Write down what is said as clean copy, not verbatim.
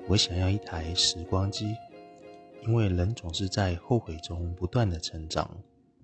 我想要1台时光机，因为人总是在后悔中不断的成长。